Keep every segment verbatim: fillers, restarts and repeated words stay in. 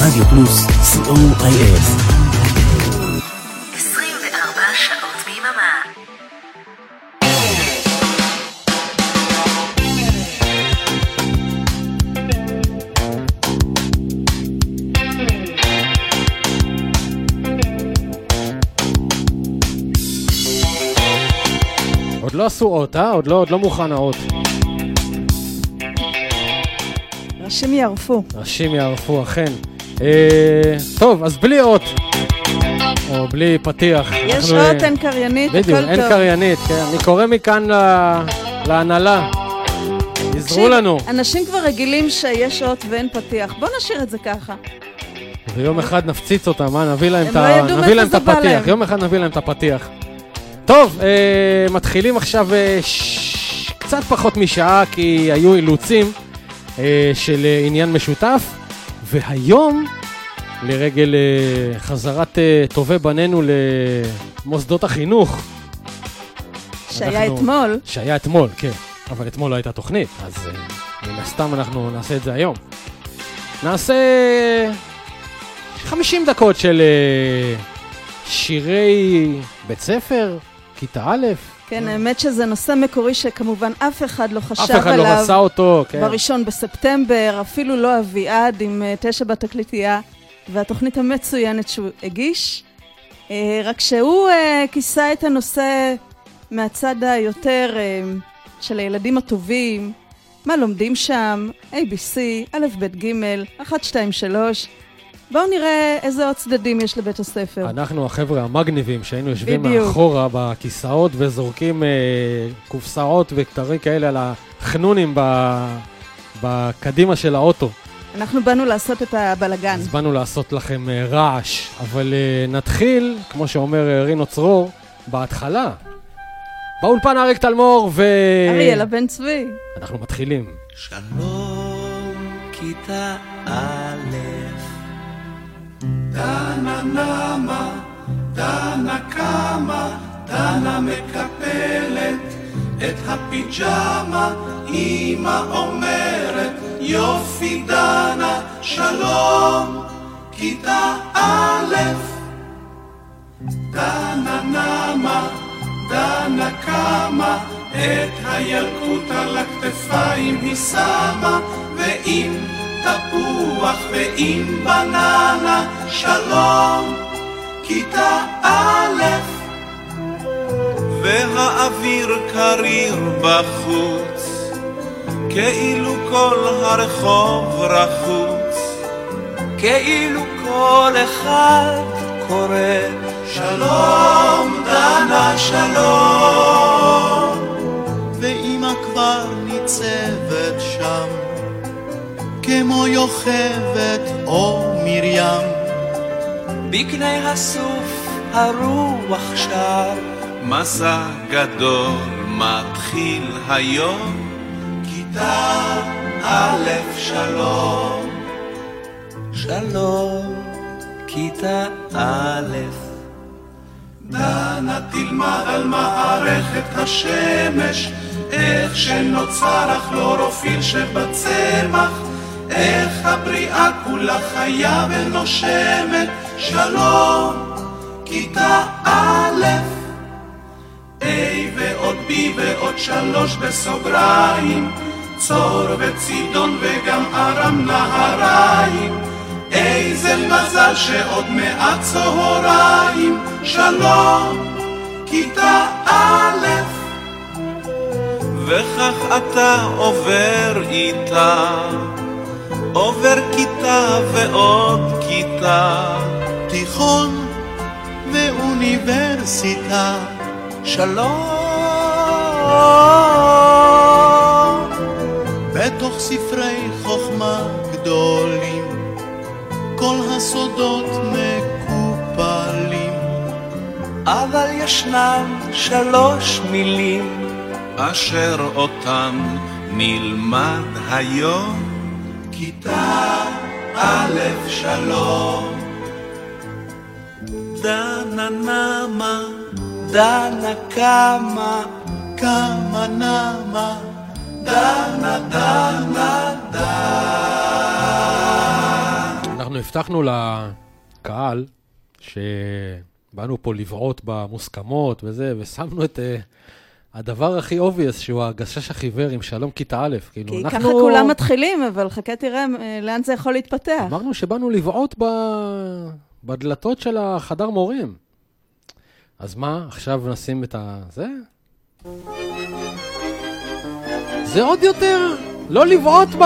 רדיו פלוס, סי או איי אס. עשרים וארבע שעות ביממה. עוד לא עשו אות, אה? עוד לא, עוד לא מוכן האות. ראשים יערפו. ראשים יערפו, אכן. אה, טוב, אז בלי אות. או בלי פתיח. יש אנחנו, אות, אין קריינית, הכל טוב. בדיוק, אין קריינית, כן. אני קורא מכאן לה, להנהלה. יזרו לנו. אנשים כבר רגילים שיש אות ואין פתיח. בוא נשאיר את זה ככה. ויום אחד נפציץ אותם, מה? נביא להם, הם את, לא ה... ידעו נביא להם את מאיפה זה בא הפתיח. להם. יום אחד נביא להם את הפתיח. טוב, אה, מתחילים עכשיו אה, ש... קצת פחות משעה, כי היו אילוצים אה, של אה, עניין משותף, והיום, לרגל אה, חזרת אה, טובי בנינו למוסדות החינוך. שהיה אנחנו... אתמול. שהיה אתמול, כן. אבל אתמול לא הייתה תוכנית, אז אה, מן הסתם אנחנו נעשה את זה היום. נעשה חמישים דקות של אה, שירי בית ספר, כיתה א'. כן, האמת שזה נושא מקורי שכמובן אף אחד לא חשב אף אחד עליו. לא רצה אותו, כן. בראשון בספטמבר, אפילו לא אביעד עם uh, תשע בתקליטייה, והתוכנית המצוינת שהוא הגיש. Uh, רק שהוא uh, כיסה את הנושא מהצד היותר uh, של הילדים הטובים, מה לומדים שם, A B C, א' ב' ג', אחת, שתיים, שלוש. בואו נראה איזה עוד צדדים יש לבית הספר. אנחנו החבר'ה המגניבים שהיינו יושבים בדיוק. מאחורה בכיסאות וזורקים אה, קופסאות וכתרים כאלה על החנונים ב- בקדימה של האוטו. אנחנו באנו לעשות את הבלגן. אז באנו לעשות לכם אה, רעש, אבל אה, נתחיל, כמו שאומר אה, רינו צרור, בהתחלה. באולפן אריק תלמור ו... אריאל הבן צבי. אנחנו מתחילים. שלום כיתה א' דנה נמה, דנה קמה, דנה מקפלת את הפיג'מה, אמא אומרת יופי דנה, שלום כיתה א'. דנה נמה, דנה קמה, את הילקוט על הכתפיים היא שמה, ואם תפוח ועם בננה, שלום כיתה א'. והאוויר קריר בחוץ, כאילו כל הרחוב רחוץ, כאילו כל אחד קורא שלום דנה שלום. ואמא כבר ניצבת שם כמו יוכבת או מרים, בקני הסוף הרוח שר, מסע גדול מתחיל היום, כיתה א' שלום. שלום כיתה א'. דנה תלמד על מערכת השמש, איך שנוצר הכלורופיל שבצמח, איך הבריאה כולה חיה ונושמת, שלום כיתה א'. A ועוד B ועוד שלוש בסוגריים, צור וצידון וגם ארם נהריים, איזה מזל שעוד מעט צהריים, שלום כיתה א'. וכך אתה עובר איתה, עובר כיתה ועוד כיתה, תיכון ואוניברסיטה, שלום. בתוך ספרי חוכמה גדולים כל הסודות מקופלים, אבל ישנם שלוש מילים אשר אותן נלמד היום, כיתה א' שלום. דנה נמה, דנה קמה, קמה נמה, דנה דנה דנה. אנחנו הבטחנו לקהל שבאנו פה לבעוט במוסכמות וזה, ושמנו את uh, הדבר הכי obvious, שהוא הגשש החיוור עם שלום כיתה א'. כאילו, כי אנחנו... ככה כולם מתחילים, אבל חכה תראה לאן זה יכול להתפתח. אמרנו שבאנו לבעוט ב... בדלתות של החדר מורים. אז מה, עכשיו נשים את ה... זה? זה עוד יותר, לא לבעוט ב...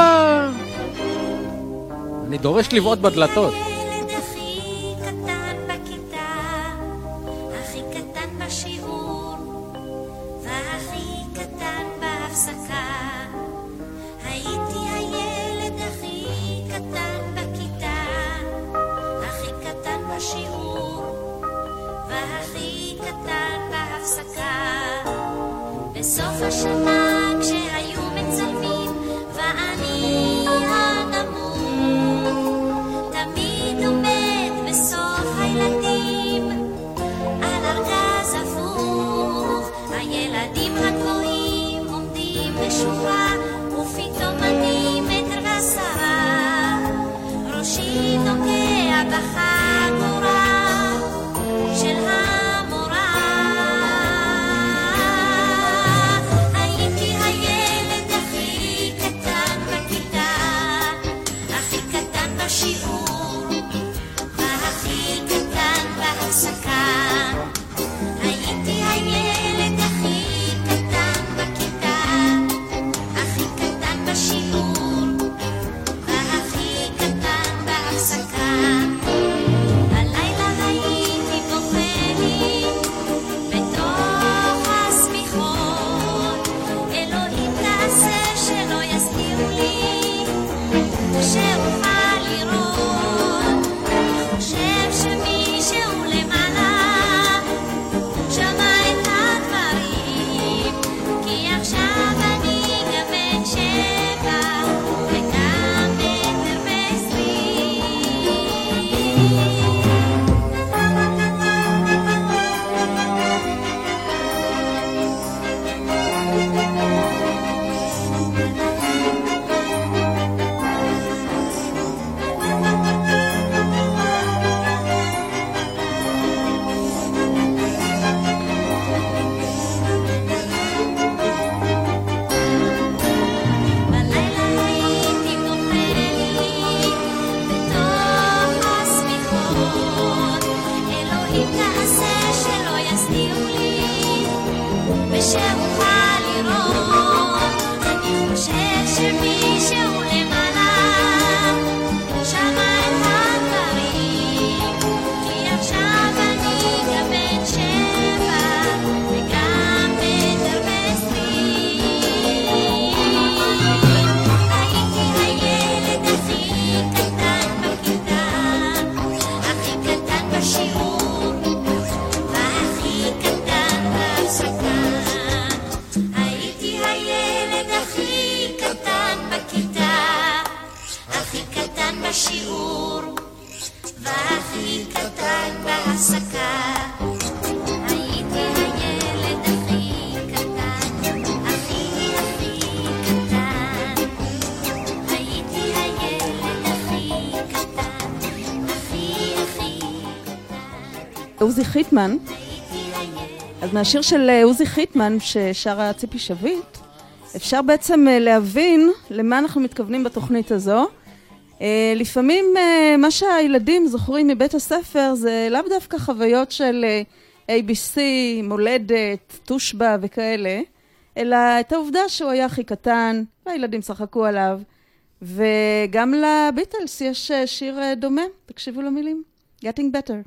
אני דורש לבעוט בדלתות. הילד הכי קטן בכיתה, הכי קטן בשיעור, והכי קטן בהפסקה. הייתי הילד הכי קטן בכיתה, הכי קטן בשיעור, והכי קטן בהפסקה. בסוף השנה כשהיו מצלמים ואני הנמוך, תמיד עומד בסוף הילדים על ארגז הפוך. הילדים הגבוהים עומדים בשורה, ופתאום אני מטר ועשרה, ראשי נוגע בחגורה של המורה. הייתי הילד הכי קטן בכיתה, הכי קטן בשיעור, והכי קטן בהפסקה. הייתי הילד הכי קטן בכיתה, הכי קטן בשיעור, והכי קטן בהפסקה. הלילה הייתי בוכה לי בתוך השמיכות, אלוהים תעשה שלא יסתירו לי, שאוכל לראות. אני חושב שמישהו למעלה שמע את הדברים, כי עכשיו אני גם בן שבע וגם מטר בלילה הייתי בוכה לי בתוך השמיכות, אלוהים תעשה שלא יסתירו לי, ושאוכל לראות. אני חושב שמישהו למעלה שמע את הדברים, כי עכשיו אני גם בן שבע וגם מטר ועשרים. הייתי הילד הכי קטן בכיתה, הכי קטן בשיעור, והכי קטן בהפסקה. הייתי הילד הכי קטן בכיתה, הכי קטן בשיעור, והכי קטן בהפסקה. הייתי הילד הכי קטן, הכי הכי קטן. הייתי הילד הכי קטן, הכי הכי קטן. עוזי חיטמן, הייתי הילד אז מהשיר של אה, עוזי חיטמן ששרה ציפי שביט, אפשר בעצם אה, להבין למה אנחנו מתכוונים בתוכנית הזו. אה, לפעמים אה, מה שהילדים זוכרים מבית הספר זה לאו דווקא חוויות של אה, איי בי סי, מולדת, תושבע וכאלה, אלא את העובדה שהוא היה הכי קטן והילדים צחקו עליו. וגם לביטלס יש אה, שיר אה, דומה, תקשיבו למילים, Getting Better.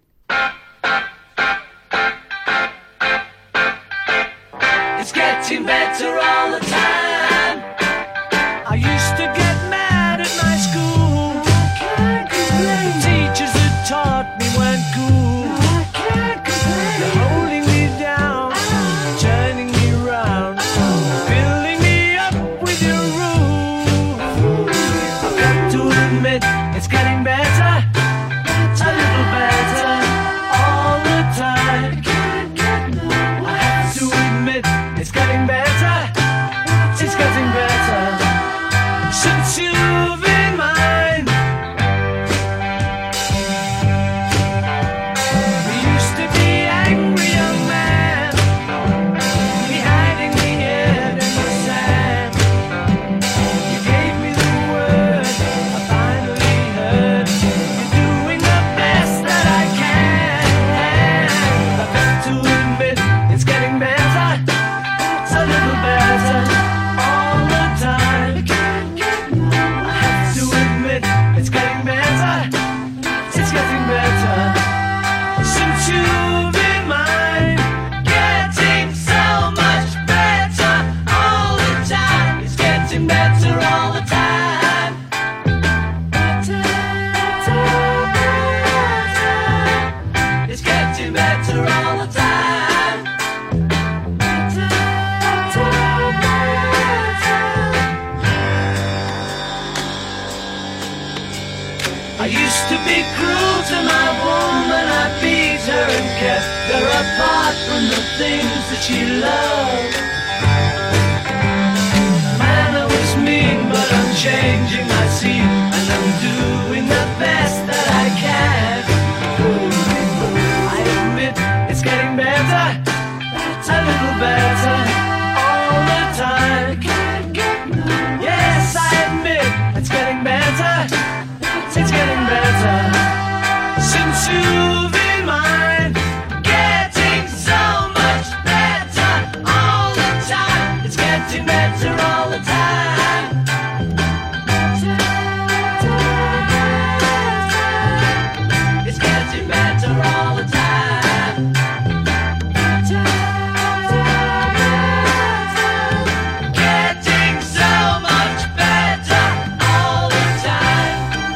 It's getting better all the time. I used to get mad at my school. The teachers that taught me weren't cool. They're holding me down, turning me round, filling me up with your rules. I've got to admit, it's getting better, a little better all the time. I have to admit, it's getting better, it's getting better since you've been mine. apart from the things that she loved. Manner was mean, but I'm changing my scene, and I'm doing the best that I can. I admit it's getting better, a little better all the time. Yes, I admit it's getting better, it's getting better since you've been mine. Getting so much better all the time. It's getting better all the time. It's getting better all the time. Getting so much better all the time.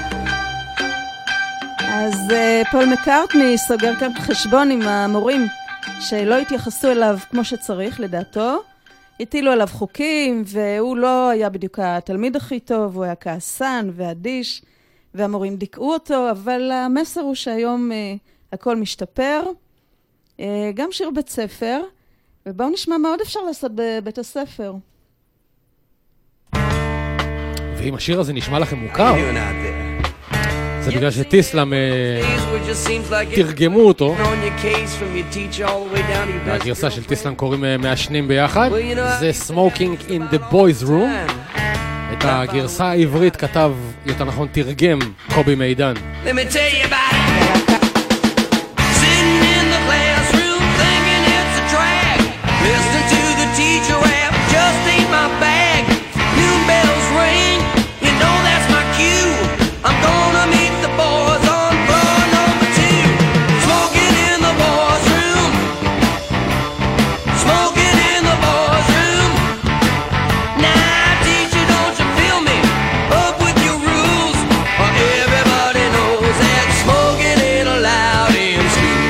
אז אה, פול מקארטני סוגר כאן חשבון עם המורים שלא התייחסו אליו כמו שצריך לדעתו. הטילו עליו חוקים והוא לא היה בדיוק התלמיד הכי טוב, הוא היה כעסן ואדיש והמורים דיכאו אותו, אבל המסר הוא שהיום אה, הכל משתפר. אה, גם שיר בית ספר, ובואו נשמע מה עוד אפשר לעשות בבית הספר. ואם השיר הזה נשמע לכם מוכר, זה בגלל שטיסלאם אה, תרגמו אותו. והגרסה של טיסלאם קוראים אה, מעשנים ביחד. זה Smoking in the Boys Room. את הגרסה העברית כתב, יותר נכון תרגם, קובי מידן. Let me tell you about it. Sitting in the classroom thinking it's a drag. Listening to the teacher rap just ain't my bag. Noon bells ring, you know that's my cue. I'm gonna meet the boys on floor number two. Smoking in the boys' room. Smoking in the boys' room. Now teacher, don't you feel me? Up with your rules. Or everybody knows that smoking ain't allowed in school.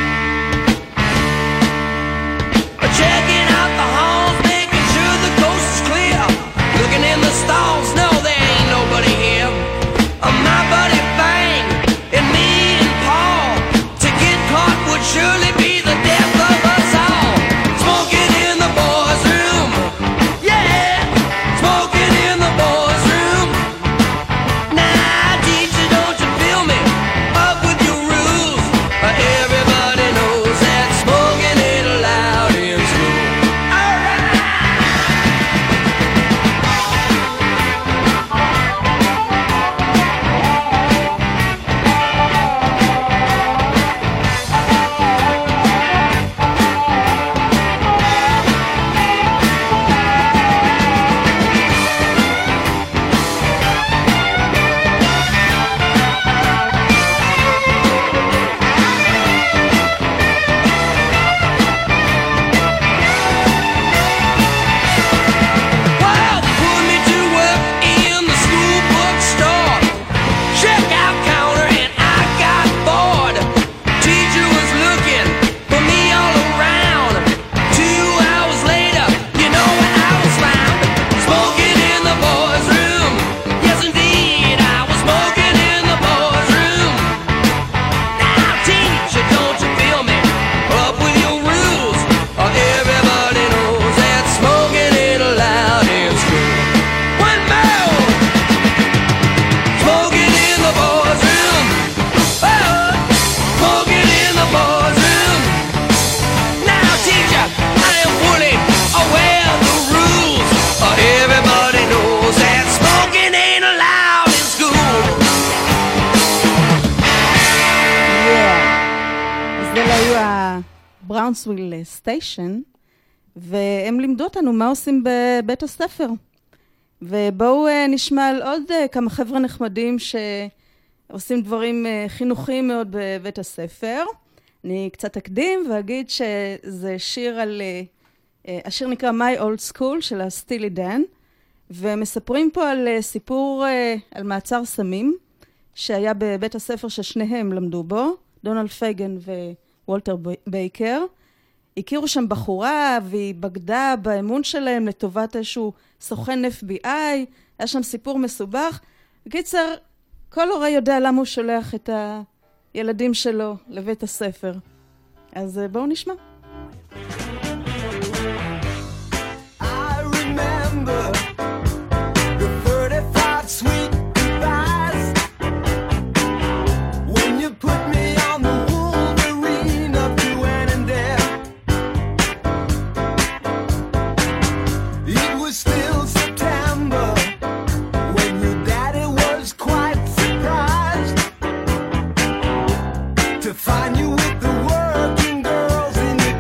Checking out the halls, making sure the coast is clear. Looking in the stalls, no, there ain't nobody here. Uh, my buddy Fang and me and Paul, to get caught would surely be the death of us all. Smoking in the boys' room, yeah, smoking in the boys' room. Now, teacher, don't you feel me? Up with your rules. Uh, everybody knows that smoking ain't allowed in school. All right. Well, they put me to work in the school bookstore. Checkout counter and I got bored. Teacher was looking for me all around. Two hours later, you know where I was found. Smoking in the boys' room. Yes, indeed, I was smoking in the boys' room. Now, teacher, don't you feel me? Up with your rules. Or everybody knows that smoking ain't allowed in school. One more. Smoking in the boys' room. Oh, smoking in the boys' room. Now, teacher, I am fully aware of the rules. Or everybody knows that smoking ain't allowed in school. אז זה לא היו הבראונסוויל סטיישן, והם לימדו אותנו מה עושים בבית הספר. ובואו אה, נשמע על עוד אה, כמה חבר'ה נחמדים שעושים דברים אה, חינוכיים מאוד בבית הספר. אני קצת אקדים ואגיד שזה שיר על, אה, אה, השיר נקרא My Old School של הסטילי דן, ומספרים פה על אה, סיפור אה, על מעצר סמים שהיה בבית הספר ששניהם למדו בו, דונלד פייגן ווולטר בייקר. הכירו שם בחורה והיא בגדה באמון שלהם לטובת איזשהו סוכן אף בי איי, היה שם סיפור מסובך. בקיצר, כל הורה יודע למה הוא שולח את הילדים שלו לבית הספר. אז אה, בואו נשמע. I remember the thirty-five sweet goodbyes when you put me on the Wolverine up to Annandale. It was still September when your daddy was quite surprised to find you with the working girls in the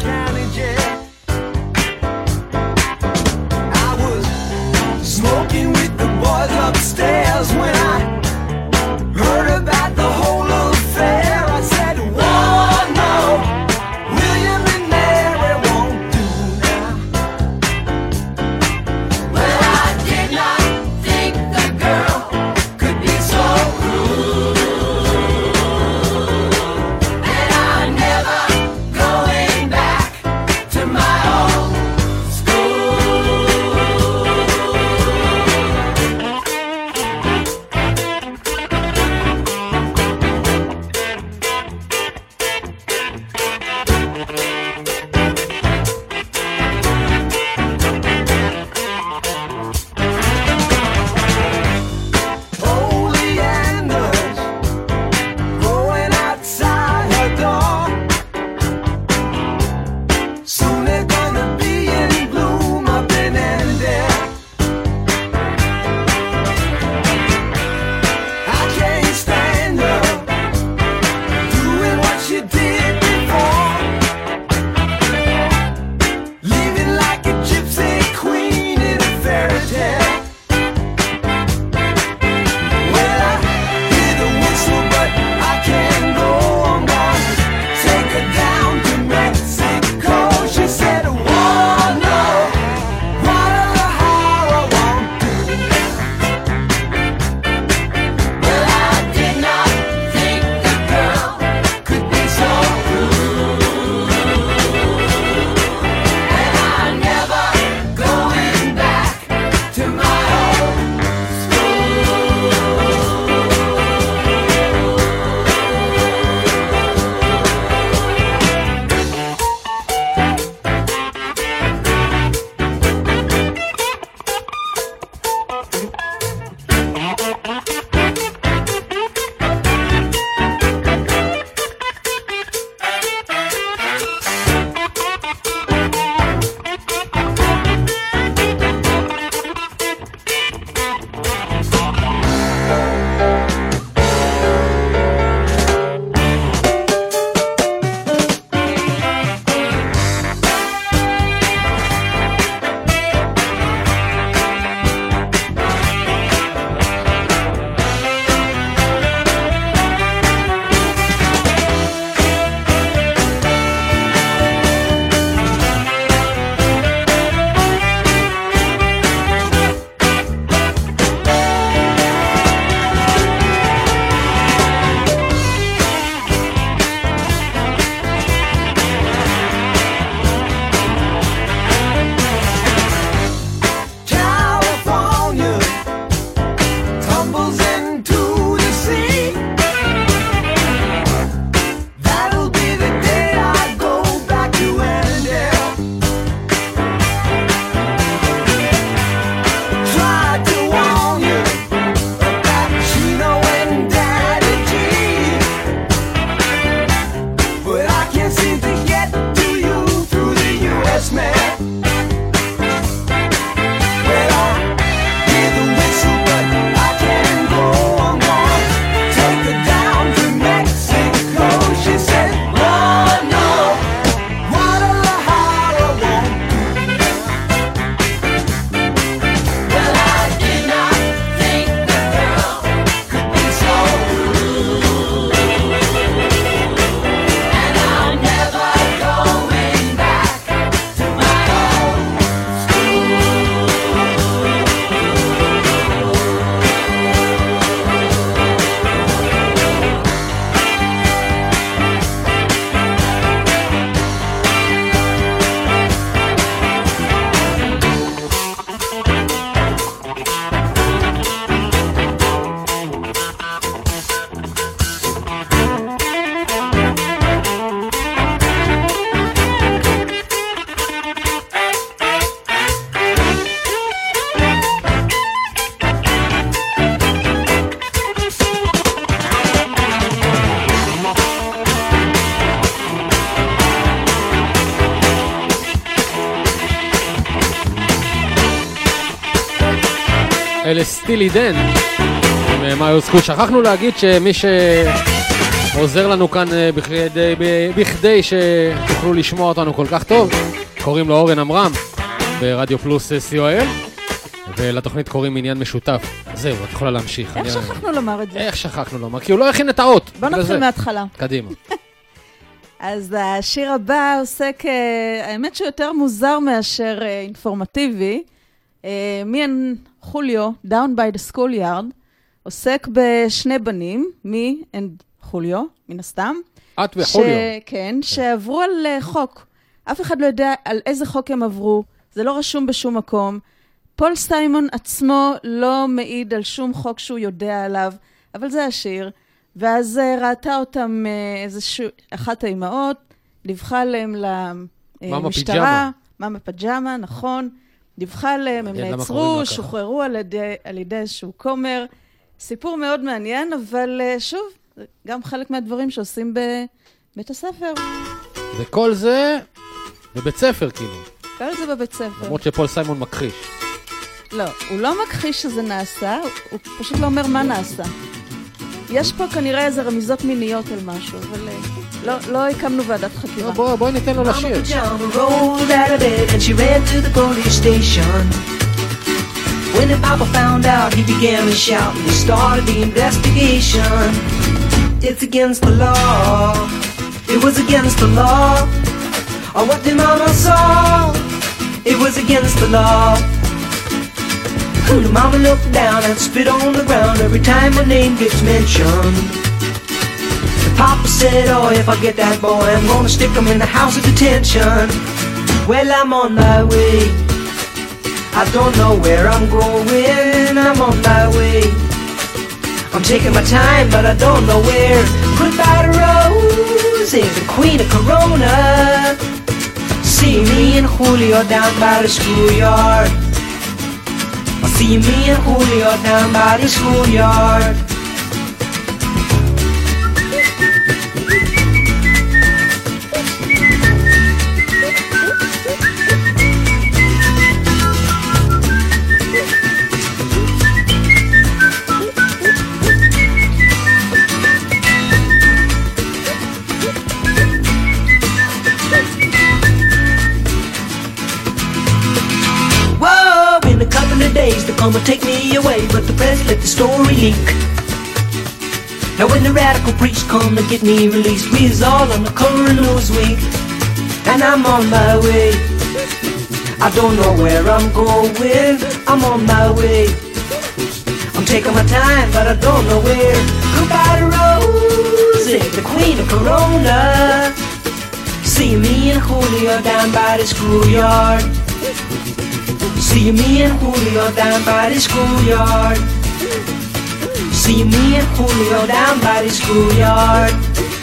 אלה סטילי דן. מה יוצקו? שכחנו להגיד שמי שעוזר לנו כאן בכדי, בכדי שתוכלו לשמוע אותנו כל כך טוב, קוראים לו אורן אמרם ברדיו פלוס סי או אל, ולתוכנית קוראים עניין משותף. זהו, את יכולה להמשיך. איך שכחנו לומר את זה? איך שכחנו לומר? כי הוא לא הכין את האות. בוא נתחיל מההתחלה. קדימה. אז השיר הבא עוסק, האמת שהוא יותר מוזר מאשר אינפורמטיבי. מי אנ חוליו, Down by the Schoolyard, עוסק בשני בנים, מי אנ חוליו, מן הסתם. את וחוליו. כן, שעברו על חוק. אף אחד לא יודע על איזה חוק הם עברו, זה לא רשום בשום מקום. פול סיימון עצמו לא מעיד על שום חוק שהוא יודע עליו, אבל זה השיר. ואז ראתה אותם איזושהי, אחת האימהות, דיווחה עליהם למשטרה, מאמה פג'מה, נכון, דיווחה עליהם, הם נעצרו, שוחררו על ידי, על ידי איזשהו כומר. סיפור מאוד מעניין, אבל שוב, גם חלק מהדברים שעושים בבית הספר. וכל זה בבית ספר, כאילו. כל זה בבית ספר. למרות שפול סיימון מכחיש. לא, הוא לא מכחיש שזה נעשה, הוא פשוט לא אומר מה נעשה. יש פה כנראה איזה רמיזות מיניות על משהו, אבל לא, לא הקמנו ועדת חקירה. בוא, בוא ניתן לו לשיר. When the papa found out, he began to shout and he started the investigation. It's against the law. It was against the law. On what the mama saw, it was against the law. The mama looked down and spit on the ground every time my name gets mentioned. The papa said, oh, if I get that boy, I'm gonna stick him in the house of detention. Well, I'm on my way. I don't know where I'm going. I'm on my way. I'm taking my time, but I don't know where. Goodbye to Rose, the queen of Corona. See me and Julio down by the schoolyard. See me and Julio down by the schoolyard. Days to come and take me away, but the press let the story leak. Now when the radical preach come to get me released, we is all on the cover of Newsweek, and I'm on my way. I don't know where I'm going. I'm on my way. I'm taking my time, but I don't know where. Goodbye to Rose, the queen of Corona. See me and Julio down by the schoolyard. See me and Julio down by the schoolyard. See me and Julio down by the schoolyard.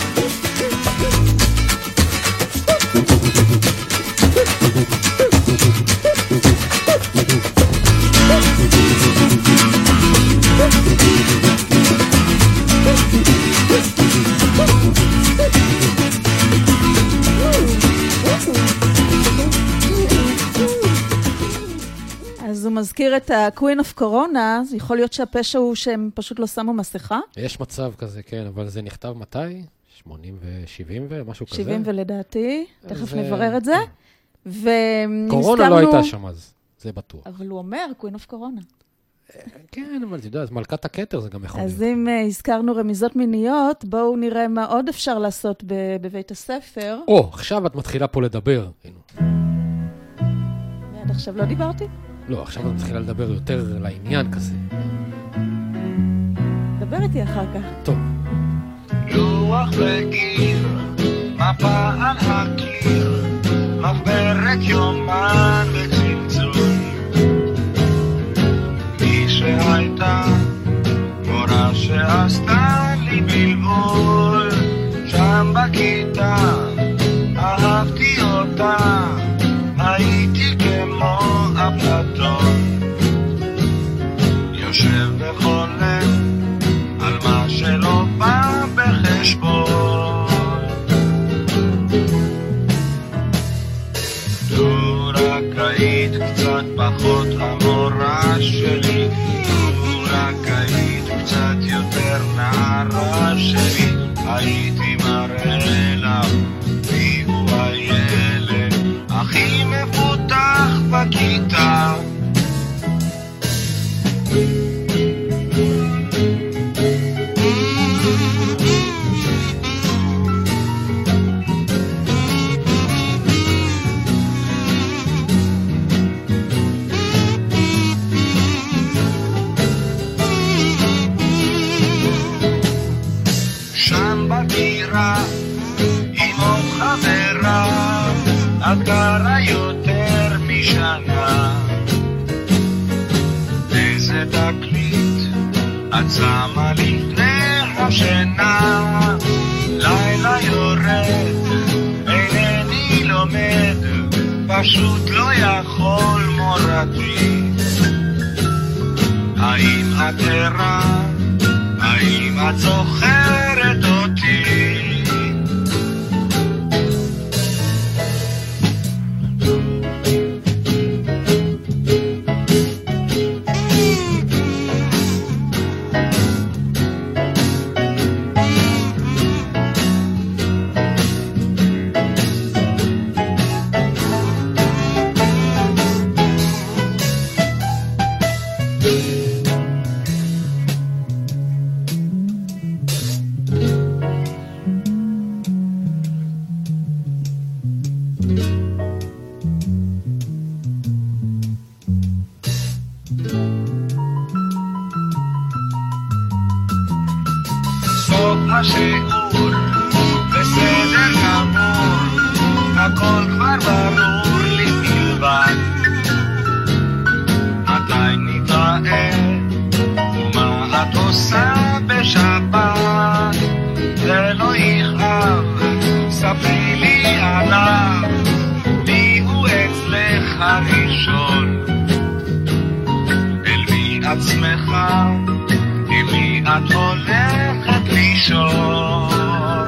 אז הוא מזכיר את ה-Queen of Corona, אז יכול להיות שהפשע הוא שהם פשוט לא שמו מסכה? יש מצב כזה, כן, אבל זה נכתב מתי? שמונים ו-שבעים ומשהו כזה? שבעים ולדעתי, תכף נברר את זה. קורונה לא הייתה שם אז, זה בטוח. אבל הוא אומר, Queen of Corona. כן, אבל אתה יודע, אז מלכת הכתר זה גם יכול להיות. אז אם הזכרנו רמיזות מיניות, בואו נראה מה עוד אפשר לעשות בבית הספר. או, עכשיו את מתחילה פה לדבר. עד עכשיו לא דיברתי? לא, עכשיו את מתחילה לדבר יותר לעניין כזה. דבר איתי אחר כך. טוב. לוח וגיר, מפה על הקיר, מחברת יומן וצלצול. מי שהייתה, מורה שעשתה לי בלבול, שם בכיתה, אהבתי אותה, הייתי כמו אפלטון, יושב וחולם על מה שלא בא בחשבון. לו רק היית קצת פחות המורה שלי, הייתי מראה לך מי הוא הילד הכי מפותח בכיתה. עם עוד חברה את גרה יותר משנה. איזה תקליט את שמה לפני השינה. לילה יורד אינני לומד פשוט לא יכול מורתי. האם את ערה? האם את זוכרת אותי? השיעור בסדר גמור, הכל כבר ברור לי בלבד. מתי נתראה ומה את עושה בשבת? זה לא יכאב, ספרי לי עליו, מי הוא אצלך הראשון? אל מי את שמחה? עם מי את הולכת לישון?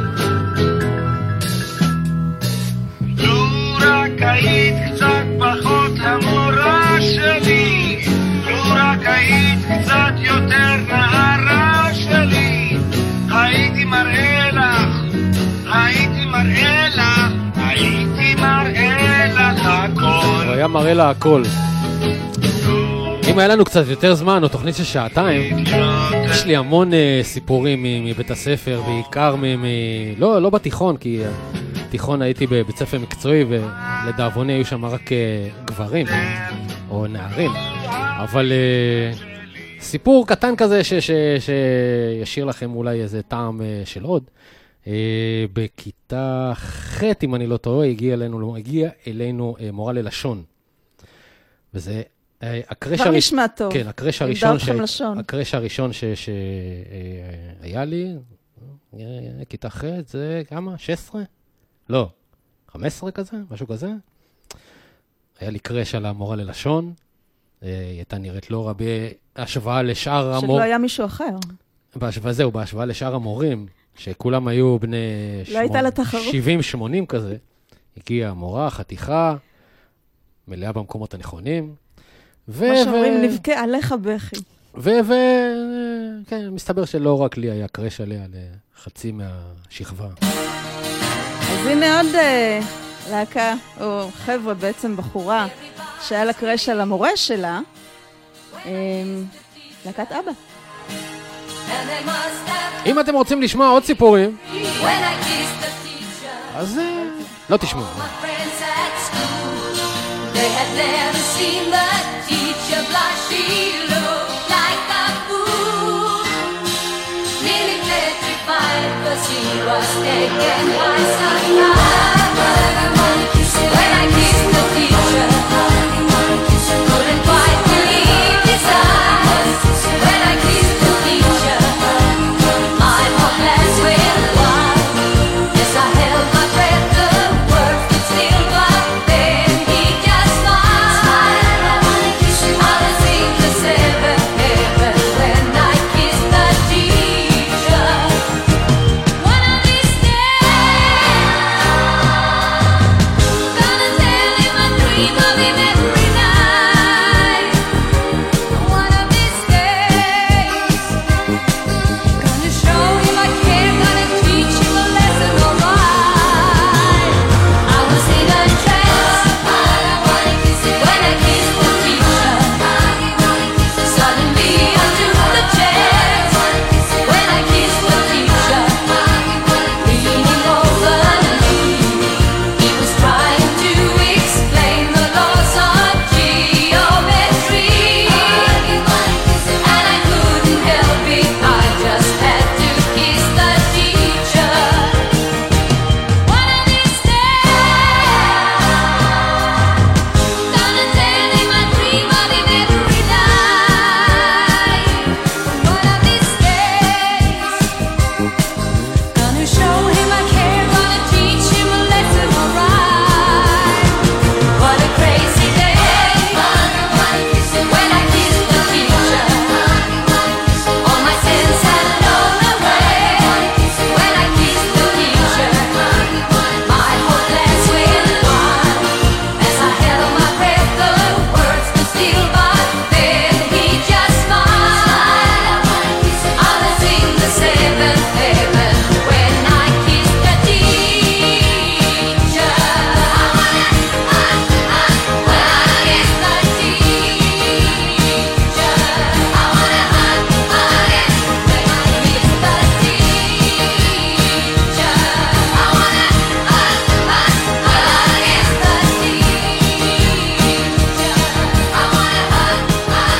לו רק היית קצת פחות המורה שלי, לו רק היית קצת יותר נערה שלי, הייתי מראה לך, הייתי מראה לך, הייתי מראה לך הכל. הוא היה מראה לה הכל. אם היה לנו קצת יותר זמן, או תוכנית של שעתיים, יש לי המון uh, סיפורים מבית הספר, בעיקר מ... מ... לא, לא בתיכון, כי בתיכון הייתי בבית ספר מקצועי, ולדאבוני היו שם רק uh, גברים, או נערים. אבל uh, סיפור קטן כזה, ש... ש... שישאיר לכם אולי איזה טעם uh, של עוד. Uh, בכיתה ח', אם אני לא טועה, הגיע אלינו, הגיע אלינו uh, מורה ללשון. וזה... כבר נשמע טוב. כן, הקרש הראשון, ש... הקרש הראשון ש... שהיה לי, כיתה ח' זה כמה? שש עשרה? לא, חמש עשרה כזה, משהו כזה. היה לי קרש על המורה ללשון, היא הייתה נראית לא רע בהשוואה לשאר המור... שלא היה מישהו אחר. בהשוואה זהו, בהשוואה לשאר המורים, שכולם היו בני לא הייתה לתחרות. שבעים שמונים כזה. הגיעה המורה, חתיכה, מלאה במקומות הנכונים. מה שאומרים, נבכה עליך בכי. ו... כן, מסתבר שלא רק לי היה קרש עליה לחצי מהשכבה. אז הנה עוד להקה, או חבר'ה בעצם בחורה, שהיה לה קרש על המורה שלה, להקת אבא. אם אתם רוצים לשמוע עוד סיפורים, אז לא תשמעו. They had never seen the teacher blush. She looked like a fool, nearly petrified, 'cause he was taken by surprise. When I kissed the teacher, couldn't quite believe his eyes. When I kissed the teacher, my heart blessed with wine. Yes, I held my breath, the words would still but then he just smiled. I was in the seventh heaven when I kissed the teacher. One of these days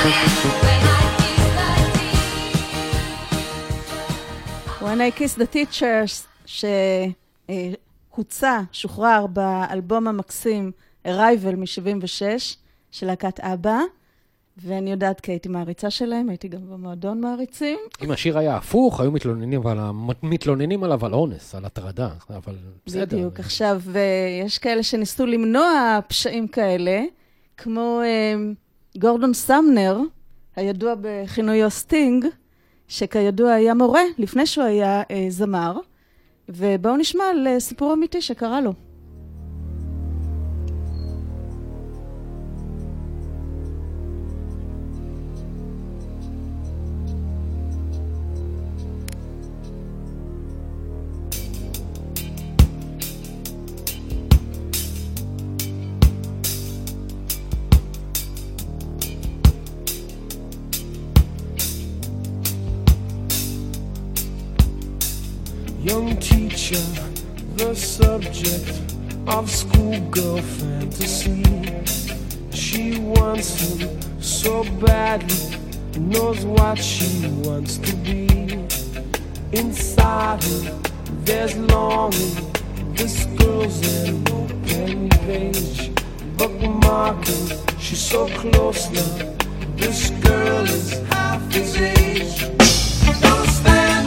When I Kiss the Teachers, שהוצא, שוחרר באלבום המקסים Arrival מ-שבעים ושש של להקת אבא, ואני יודעת כי הייתי מעריצה שלהם, הייתי גם במועדון מעריצים. אם השיר היה הפוך, היו מתלוננים, אבל מתלוננים עליו על אונס, על הטרדה, אבל בסדר. בדיוק, עכשיו, יש כאלה שניסו למנוע פשעים כאלה, כמו גורדון סמנר, הידוע בכינויו סטינג, שכידוע היה מורה לפני שהוא היה אה, זמר, ובואו נשמע על אה, סיפור אמיתי שקרה לו. Young teacher, the subject of schoolgirl fantasy. She wants him so badly, knows what she wants to be. Inside her, there's longing. This girl's an open page, bookmarking. She's so close now. This girl is half his age. Don't stand.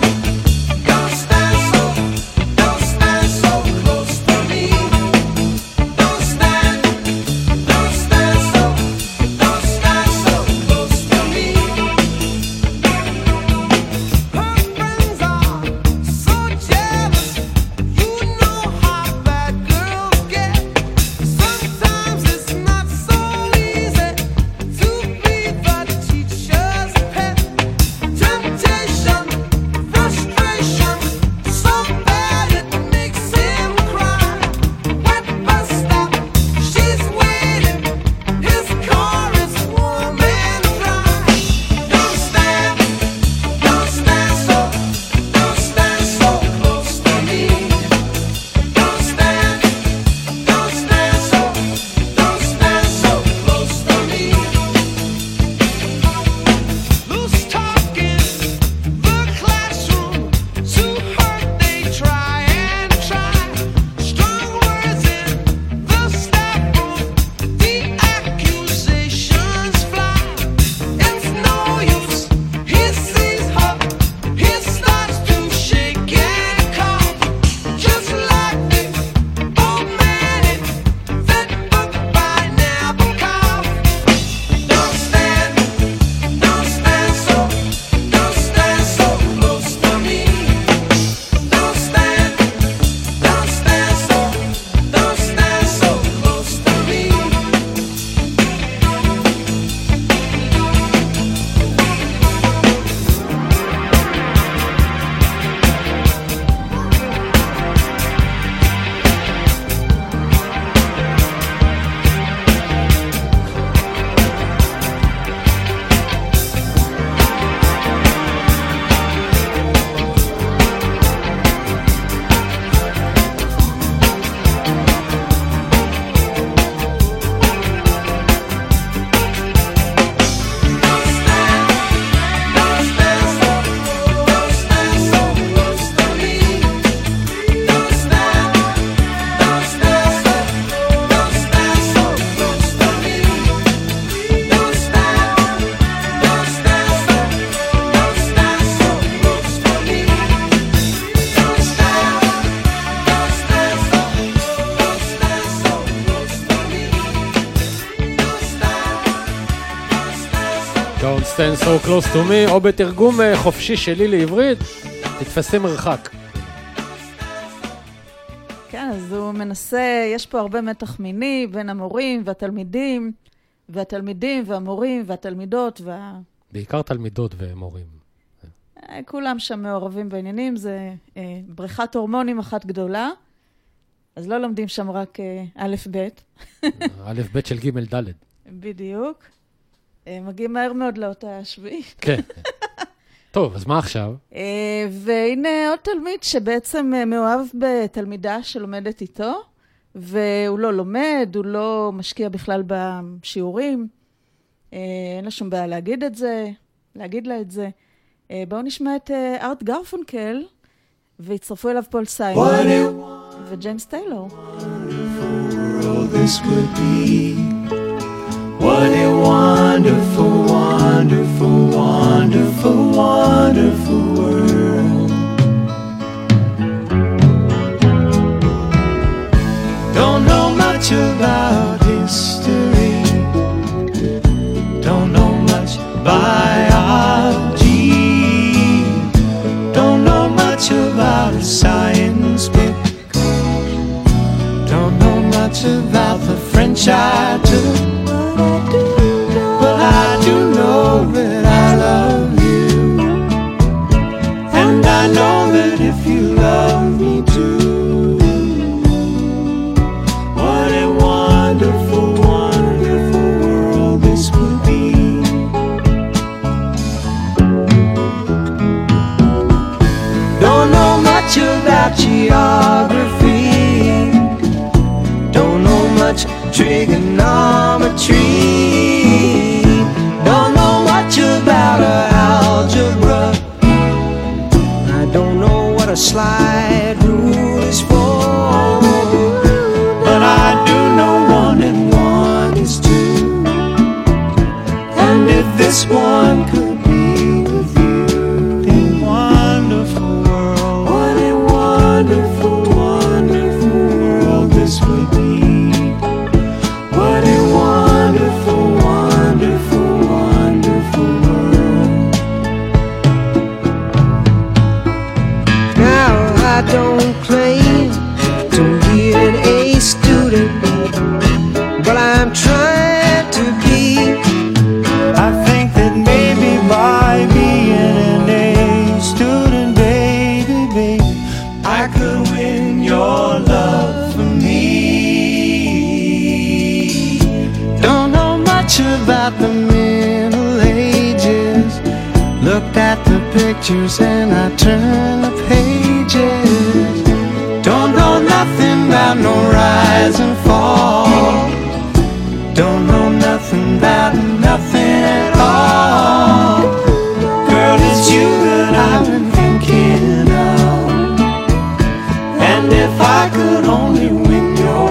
Stand so close to me, או בתרגום חופשי שלי לעברית, תתפסי מרחק. כן, אז הוא מנסה, יש פה הרבה מתח מיני בין המורים והתלמידים, והתלמידים והמורים והתלמידות וה... בעיקר תלמידות ומורים. כולם שם מעורבים בעניינים, זה אה, בריכת הורמונים אחת גדולה, אז לא לומדים שם רק אה, א' ב'. א' ב' של ג' ד'. בדיוק. מגיעים מהר מאוד לאותה השביעית. כן. טוב, אז מה עכשיו? והנה עוד תלמיד שבעצם מאוהב בתלמידה שלומדת איתו, והוא לא לומד, הוא לא משקיע בכלל בשיעורים. אה, אין לה שום בעיה להגיד את זה, להגיד לה את זה. אה, בואו נשמע את אה, ארט גרפונקל, והצטרפו אליו פול סיימון וג'יימס טיילור. World this would be. What a wonderful, wonderful, wonderful, wonderful world. Don't know much about history. Don't know much biology. Don't know much about science book. Don't know much about the French I took. But I do know that I love you. And I know that if you love me too. What a wonderful, wonderful world this would be. Don't know much about geography. Don't know much trigonometry. Don't know much about algebra. I don't know what a slide rule is for. But I do know one and one is two. And if this one could be with you, a wonderful world. What a wonderful, wonderful world this would be. What a wonderful, wonderful, wonderful world. Now I don't claim to be an A student, but I'm trying to be. I think that maybe by being an A student, baby, baby, I could win your love for me. Don't know much about the Middle Ages. Looked at the pictures and I turned the pages. Don't know nothing about no rise and fall. Don't know nothing about nothing at all. Girl, it's you that I've been thinking of. And if I could only win your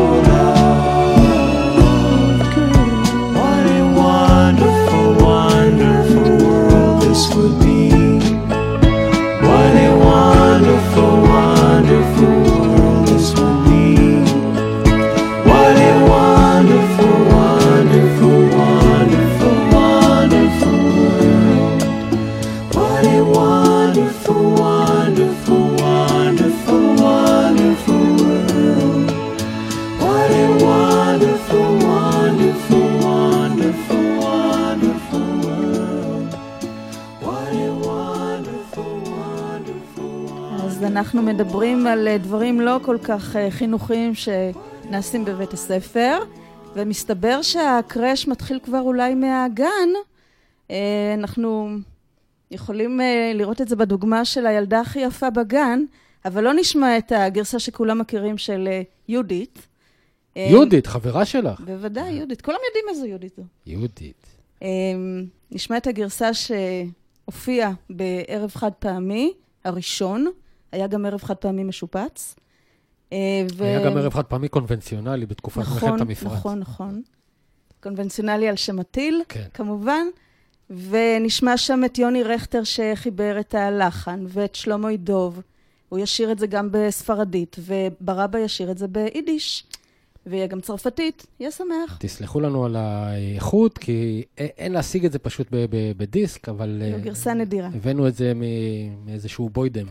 love, girl, what a wonderful, wonderful world this would be. What a wonderful, wonderful world this would be. What a wonderful, wonderful, wonderful, wonderful world. What a wonderful, wonderful, wonderful, wonderful world. What a wonderful, wonderful, wonderful, wonderful world. What a wonderful, wonderful, wonderful. אז אנחנו מדברים על אה, דברים לא כל כך אה, חינוכיים שנעשים בבית הספר, ומסתבר שהקרש מתחיל כבר אולי מהגן. אה, אנחנו יכולים אה, לראות את זה בדוגמה של הילדה הכי יפה בגן, אבל לא נשמע את הגרסה שכולם מכירים של אה, יהודית. אה, יהודית, חברה שלך. בוודאי, יהודית. כולם יודעים איזו יהודית זו. יהודית. אה, נשמע את הגרסה שהופיעה בערב חד פעמי הראשון, היה גם ערב חד פעמי משופץ. אה, ו... היה גם ערב חד פעמי קונבנציונלי בתקופת נכון, מלחמת המפרץ. נכון, נכון. קונבנציונלי על שם הטיל, כן. כמובן. ונשמע שם את יוני רכטר שחיבר את הלחן, ואת שלמה ידוב. הוא ישיר את זה גם בספרדית, וברבא ישיר את זה ביידיש. ויהיה גם צרפתית, יהיה שמח. תסלחו לנו על האיכות, כי א- אין להשיג את זה פשוט ב- ב- בדיסק, אבל זו אה, גרסה נדירה. הבאנו את זה מ- מאיזשהו בוידם.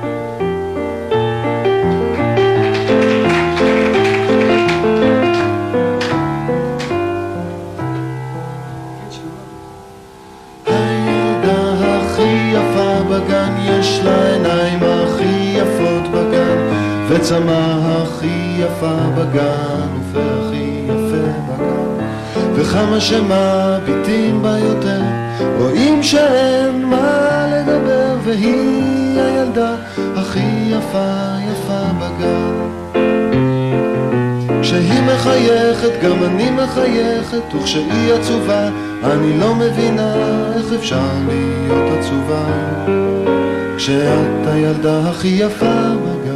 הילדה הכי יפה בגן, יש לה עיניים הכי יפות בגן, וצמא הכי יפה בגן, ופה הכי יפה בגן, וכמה שמביטים בה יותר, רואים שאין מה לדבר, והיא הילדה הכי יפה יפה בגן. כשהיא מחייכת גם אני מחייכת, וכשהיא עצובה אני לא מבינה איך אפשר להיות עצובה כשאת הילדה הכי יפה בגן.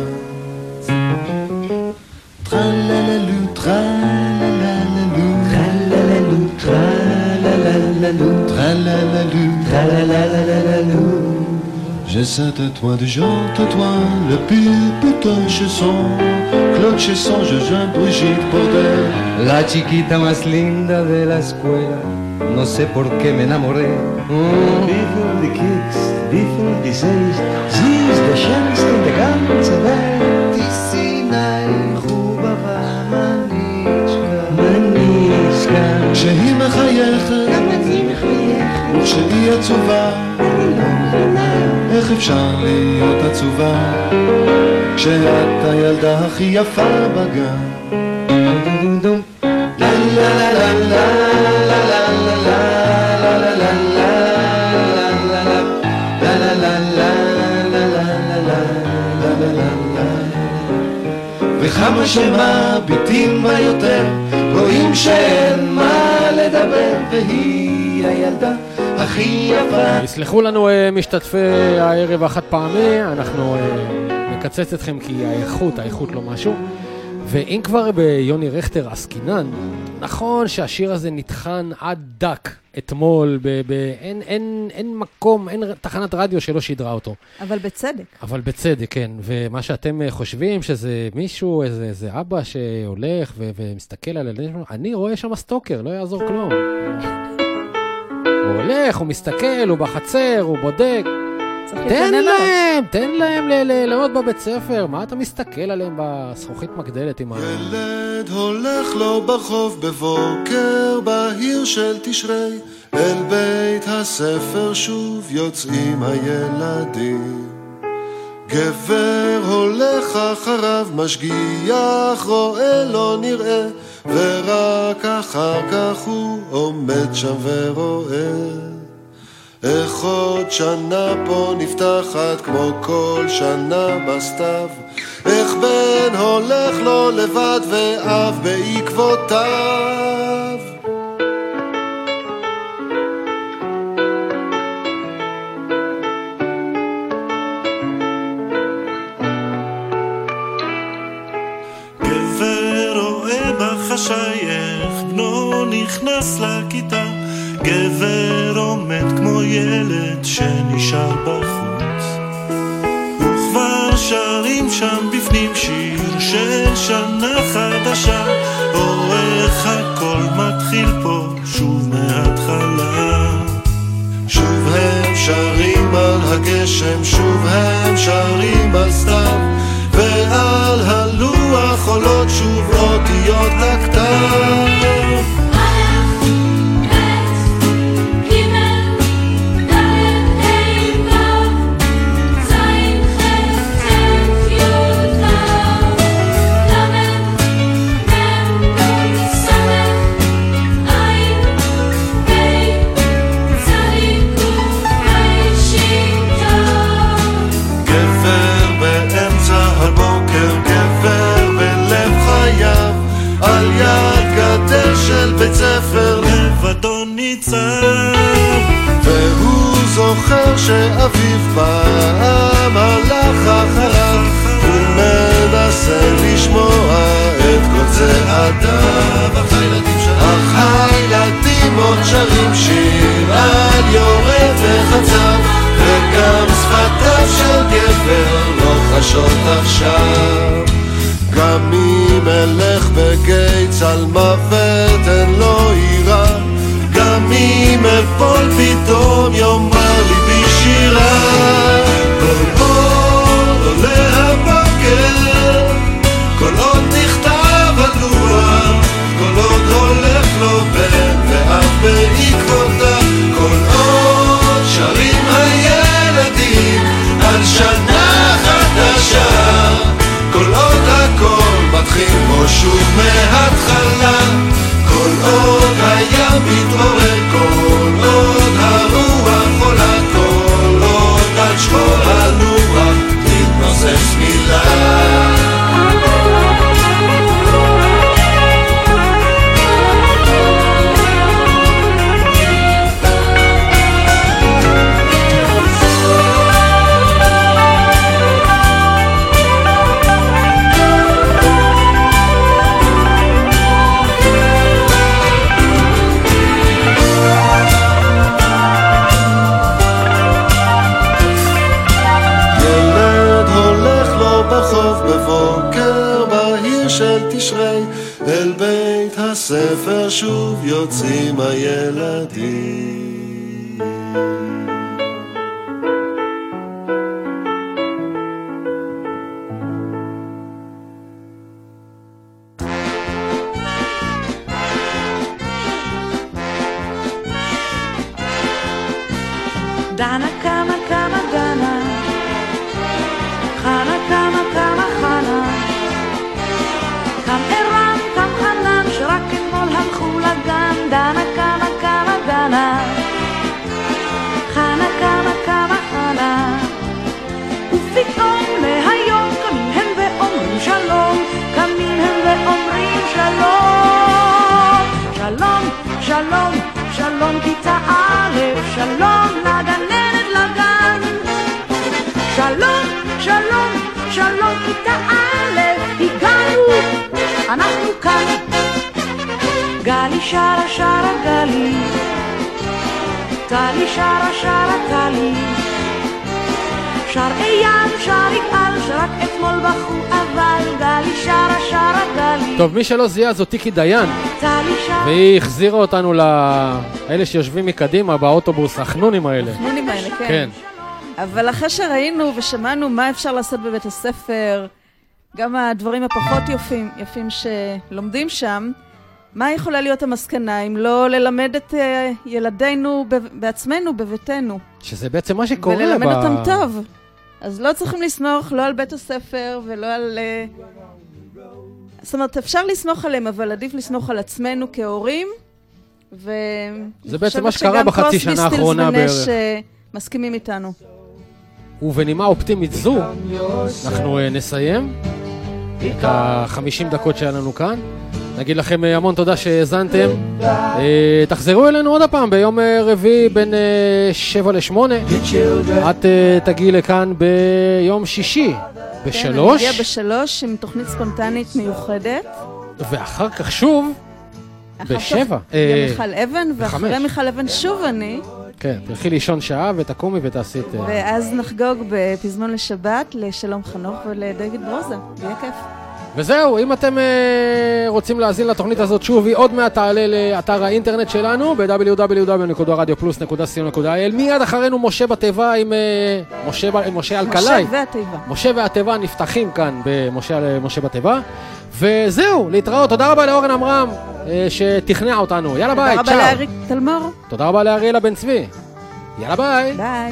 טרלללו טרלללו טרלללו טרלללו טרלללו טרלללו. Je sais de toi de Jean, de toi le plus putain chanson, Claude Chesson, je jeune Brigitte Bordel. La chiquita más linda de la escuela, no sé por qué me enamoré. Wie die Kicks, wie die seis, sie ist der schönste in der ganzen Welt. Die Sinai, Chubava, Manichka, Manichka. כשהיא מחייכת, גם אני מחייכת. וכשהיא עצובה, אני לא מבינה איך אפשר להיות עצובה כשאת הילדה הכי יפה בגן. לה לה לה לה לה לה לה לה לה וכמה שמביטים בה יותר רואים שאין מה לדבר, והיא הילדה הכי יפה. יסלחו לנו משתתפי הערב החד פעמי, אנחנו נקצץ אתכם כי האיכות, האיכות לא משהו. ואם כבר ביוני רכטר עסקינן, נכון שהשיר הזה נתחן עד דק אתמול, ב- ב- אין, אין, אין מקום, אין תחנת רדיו שלא שידרה אותו. אבל בצדק. אבל בצדק, כן. ומה שאתם חושבים שזה מישהו, איזה, איזה אבא שהולך ו- ומסתכל על הילדים, אני רואה שם סטוקר, לא יעזור כלום. הוא הולך, הוא מסתכל, הוא בחצר, הוא בודק. תן להם, תן להם ללמוד בבית ספר. מה אתה מסתכל עליהם בזכוכית מגדלת עם ה... ילד הולך לו ברחוב בבוקר בהיר של תשרי, אל בית הספר שוב יוצאים הילדים. גבר הולך אחריו משגיח, רואה לא נראה, ורק אחר כך הוא עומד שם ורואה. איך עוד שנה פה נפתחת כמו כל שנה בסתיו, איך בן הולך לו לבד ואב בעקבותיו. גבר רואה בחשייך בנו נכנס לכיתה, גבר עומד כמו ילד שנשאר בחוץ, וכבר שרים שם בפנים שיר של שנה חדשה, או איך הכל מתחיל פה שוב מההתחלה. שוב הם שרים על הגשם, שוב הם שרים על סתיו, ועל הלוח עולות שוב אותיות לכתב. של בית ספר לבדו ניצב, והוא זוכר שאביו פעם הלך אחריו, הוא מנסה לשמוע את כל צעדיו, אך הילדים עוד שרים שיר על יורד וחצב, וגם שפתיו של גבר לא חשות עכשיו. גם אם אלך בגיץ על מוות אין לו עירה, גם אם אפול פתאום יאמר לי בשירה. כל עוד עולה הבוקר, כל עוד נכתב הלוח, כל עוד הולך לו בן ואף בעקבותיו, כל עוד שרים הילדים על שנה חדשה, כל עוד הכל מתחיל כמו שוב מההתחלה, כל עוד הים מתעורר, כל עוד הרוח עולה, כל עוד עד שחור הלוח תתנוסס מילה. אל בית הספר שוב יוצאים הילדים. דנה קמה קמה דנה, חנה קמה קמה חנה, קם ערן קם חנן שרק אתמול הלכו לגן. דנה קמה קמה דנה, חנה קמה קמה חנה, ופתאום מהיום קמים הם ואומרים שלום, קמים הם ואומרים שלום, שלום שלום שלום כיתה א', שלום לגננת לגן. שלום, שלום, שלום כיתה א', הגענו, אנחנו כאן. גלי שרה שרה גלי, טלי שרה שרה טלי, שר אייל שר יגאל שרק אתמול בחו אבל. גלי שרה שרה גלי. טוב, מי שלא זיהה זו טיקי דיין, והיא החזירה אותנו לאלה שיושבים מקדימה באוטובוס, החנונים האלה. החנונים האלה, כן. כן. אבל אחרי שראינו ושמענו מה אפשר לעשות בבית הספר, גם הדברים הפחות יפים, יפים שלומדים שם, מה יכולה להיות המסקנה אם לא ללמד את uh, ילדינו בעצמנו, בביתנו? שזה בעצם מה שקורה. וללמד ב... אותם טוב. אז לא צריכים לסמוך לא על בית הספר ולא על... Uh... זאת אומרת, אפשר לסמוך עליהם, אבל עדיף לסמוך על עצמנו כהורים. ו... זה בעצם מה שקרה בחצי שנה האחרונה בערך. מסכימים איתנו. ובנימה אופטימית זו, אנחנו uh, נסיים את ה-חמישים דקות שהיה לנו כאן. נגיד לכם המון תודה שהזנתם. תחזרו אלינו עוד הפעם ביום רביעי בין שבע לשמונה. את תגיעי לכאן ביום שישי בשלוש. כן, נגיע בשלוש עם תוכנית ספונטנית מיוחדת. ואחר כך שוב בשבע. יהיה מיכל אבן, ואחרי מיכל אבן שוב אני. כן, תלכי לישון שעה ותקומי ותעשי את... ואז נחגוג בפזמון לשבת לשלום חנוך ולדויד ברוזה. יהיה כיף. וזהו, אם אתם uh, רוצים להזין לתוכנית הזאת שוב, היא עוד מעט תעלה לאתר האינטרנט שלנו ב-דאבליו דאבליו דאבליו נקודה רדיו פלוס נקודה סי או נקודה איי אל. מיד אחרינו משה בתיבה עם uh, משה, משה אלקלעי. משה והתיבה. משה והתיבה נפתחים כאן במשה משה בתיבה. וזהו, להתראות. תודה רבה לאורן אמרם uh, שתכנע אותנו. יאללה ביי, צ'או. תודה רבה לאריק תלמור. תודה רבה לאריאלה בן צבי. יאללה ביי. ביי.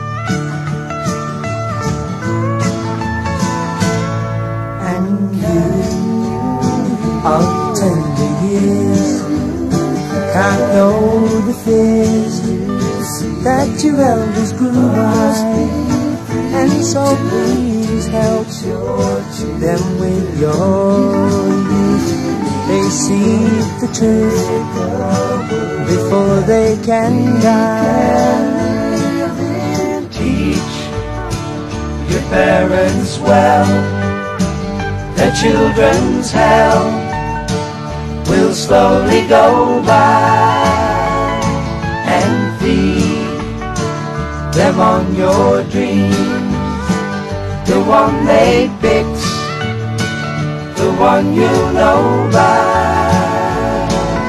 I'll tender years can't know the fears that your elders grew by, and so please help them with your youth. They see the truth before they can die. Teach your parents well, their children's hell will slowly go by, and feed them on your dreams, the one they picked, the one you know by.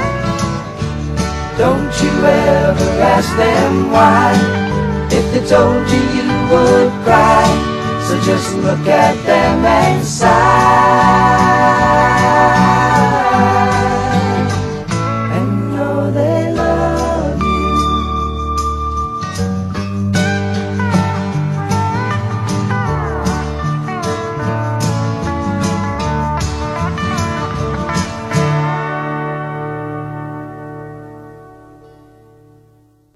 Don't you ever ask them why, if they told you you would cry, so just look at them and sigh.